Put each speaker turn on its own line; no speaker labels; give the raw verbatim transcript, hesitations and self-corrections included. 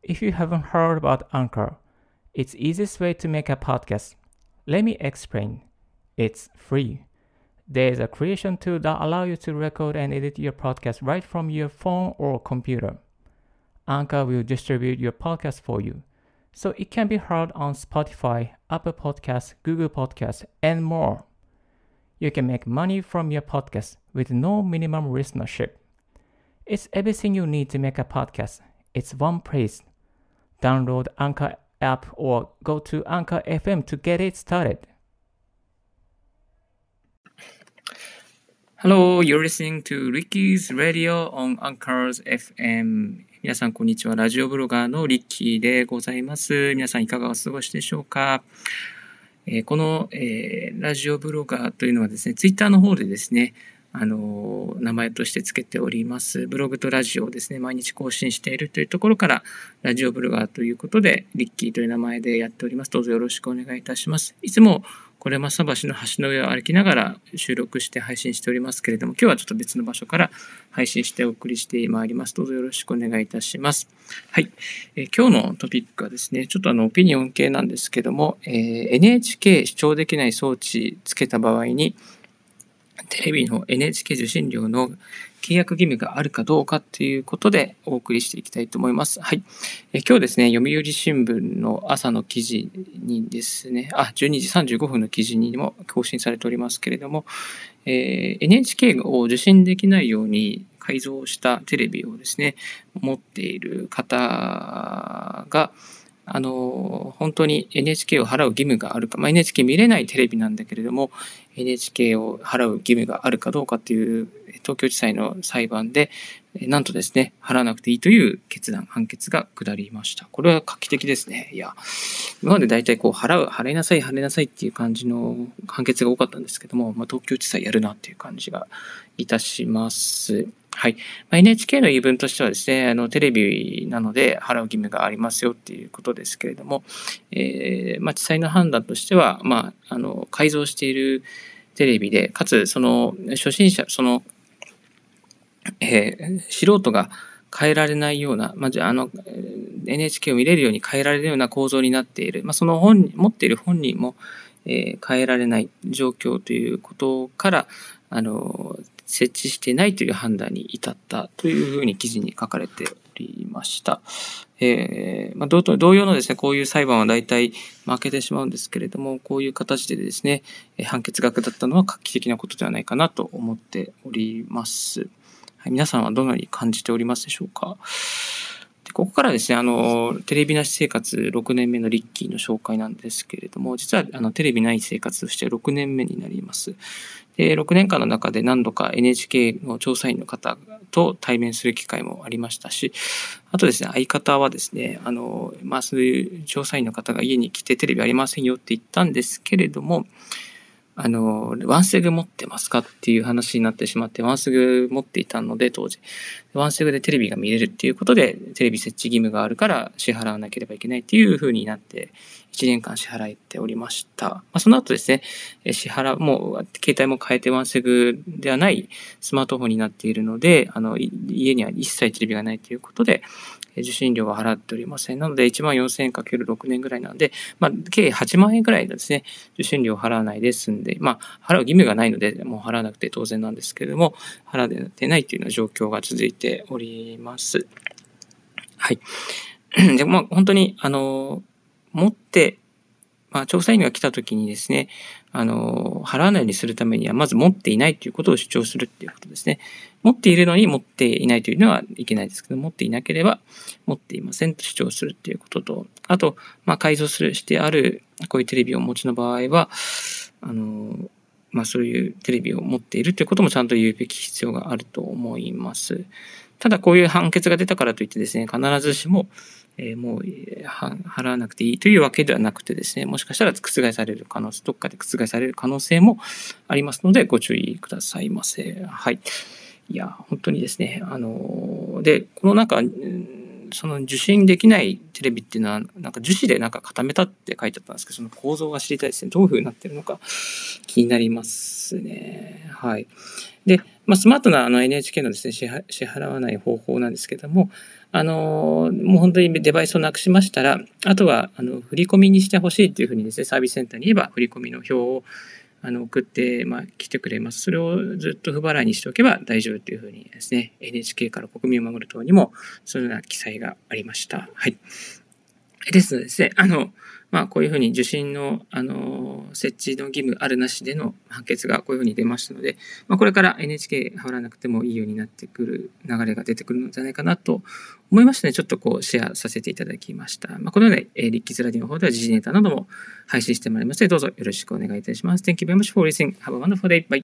If you haven't heard about Anchor, it's the easiest way to make a podcast. Let me explain. It's free. There's a creation tool that allows you to record and edit your podcast right from your phone or computer. Anchor will distribute your podcast for you, so it can be heard on Spotify, Apple Podcasts, Google Podcasts, and more. You can make money from your podcast with no minimum listenership. It's everything you need to make a podcast. It's one place. Download Anchor app or go to Anchor エフエム to get it started.
Hello, you're listening to Ricky's Radio on Anchor's エフエム。皆さん、こんにちは。ラジオブロガーのリッキーでございます。皆さん、いかがお過ごしでしょうか。えー、この、えー、ラジオブロガーというのはですね、ツイッターの方でですね、あのー、名前としてつけております。ブログとラジオをですね、毎日更新しているというところから、ラジオブロガーということで、リッキーという名前でやっております。どうぞよろしくお願いいたします。いつも、これ正橋の橋の上を歩きながら収録して配信しておりますけれども、今日はちょっと別の場所から配信してお送りしてまいります。どうぞよろしくお願いいたします。はい。えー、今日のトピックはですね、ちょっとあの、オピニオン系なんですけども、えー、エヌエイチケー 視聴できない装置つけた場合に、テレビの エヌエイチケー 受信料の契約義務があるかどうかということでお送りしていきたいと思います。はい。え今日ですね、読売新聞の朝の記事にですね、あ、じゅうにじさんじゅうごふんの記事にも更新されておりますけれども、えー、エヌエイチケー を受信できないように改造したテレビをですね、持っている方が、あの、本当に エヌエイチケー を払う義務があるか、まあ、エヌエイチケー 見れないテレビなんだけれども、エヌエイチケー を払う義務があるかどうかっていう東京地裁の裁判で、なんとですね、払わなくていいという決断、判決が下りました。これは画期的ですね。いや、今まで大体こう、払う、払いなさい、払いなさいっていう感じの判決が多かったんですけども、まあ、東京地裁やるなっていう感じがいたします。はい。まあ、エヌエイチケー の言い分としてはですね、あの、テレビなので払う義務がありますよっていうことですけれども、えー、まあ、地裁の判断としては、まあ、あの、改造しているテレビで、かつ、その、初心者、その、えー、素人が変えられないような、まあ、じゃあ、あの、エヌエイチケー を見れるように変えられるような構造になっている。まあ、その本、持っている本人も、えー、変えられない状況ということから、あの、設置していないという判断に至ったというふうに記事に書かれておりました。えーまあ、同, 同様のですね、こういう裁判は大体負けてしまうんですけれども、こういう形でですね、判決が下ったのは画期的なことではないかなと思っております。はい、皆さんはどのように感じておりますでしょうか。でここからですね、あの、テレビなし生活ろくねんめのリッキーの紹介なんですけれども、実はあのテレビない生活としてろくねんめになります。で、ろくねんかんの中で何度か エヌエイチケー の調査員の方と対面する機会もありましたし、あとですね、相方はですね、あの、まあ、そういう調査員の方が家に来てテレビありませんよって言ったんですけれども、あの、ワンセグ持ってますかっていう話になってしまって、ワンセグ持っていたので、当時。ワンセグでテレビが見れるっていうことで、テレビ設置義務があるから支払わなければいけないっていう風になって、いちねんかん支払っておりました。まあ、その後ですね、支払う、もう、携帯も変えてワンセグではないスマートフォンになっているので、あの、家には一切テレビがないということで、受信料は払っておりません。なので、いちまんよんせんえんかけるろくねんぐらいなので、まあ、計はちまんえんぐらいですね、受信料を払わないで済んで、まあ、払う義務がないので、もう払わなくて当然なんですけれども、払ってないというような状況が続いております。はい。で、まあ、本当に、あの、持って、まあ、調査員が来た時にですね、あの、払わないようにするためには、まず持っていないということを主張するっていうことですね。持っているのに持っていないというのはいけないですけど、持っていなければ持っていませんと主張するっていうことと、あと、まあ、改造する、してある、こういうテレビをお持ちの場合は、あの、まあ、そういうテレビを持っているということもちゃんと言うべき必要があると思います。ただ、こういう判決が出たからといってですね、必ずしも、えー、もう払わなくていいというわけではなくてですね、もしかしたら覆される可能性、どっかで覆される可能性もありますので、ご注意くださいませ。はい。いや、本当にですね、あの、で、このなんか、その受信できないテレビっていうのは、なんか樹脂でなんか固めたって書いてあったんですけど、その構造が知りたいですね。どういう風になってるのか気になりますね。はい。で、まあ、スマートなあの エヌエイチケー のですね、支払わない方法なんですけども、 あのもう本当にデバイスをなくしましたら、あとはあの振り込みにしてほしいというふうにですね、サービスセンターに言えば振り込みの表をあの送って、まあ、来てくれます。それをずっと不払いにしておけば大丈夫というふうにですね、エヌエイチケー から国民を守る党にもそのような記載がありました。はい。ですのでですね、あの、まあ、こういうふうに受信の、あの、設置の義務あるなしでの判決がこういうふうに出ましたので、まあ、これから エヌエイチケー 払わなくてもいいようになってくる流れが出てくるのではないかなと思いましてね、ちょっとこうシェアさせていただきました。まあ、このような、えー、リッキーズラディの方では時事ネタなども配信してまいりますので、どうぞよろしくお願いいたします。Thank you very much for listening. Have a wonderful day. Bye.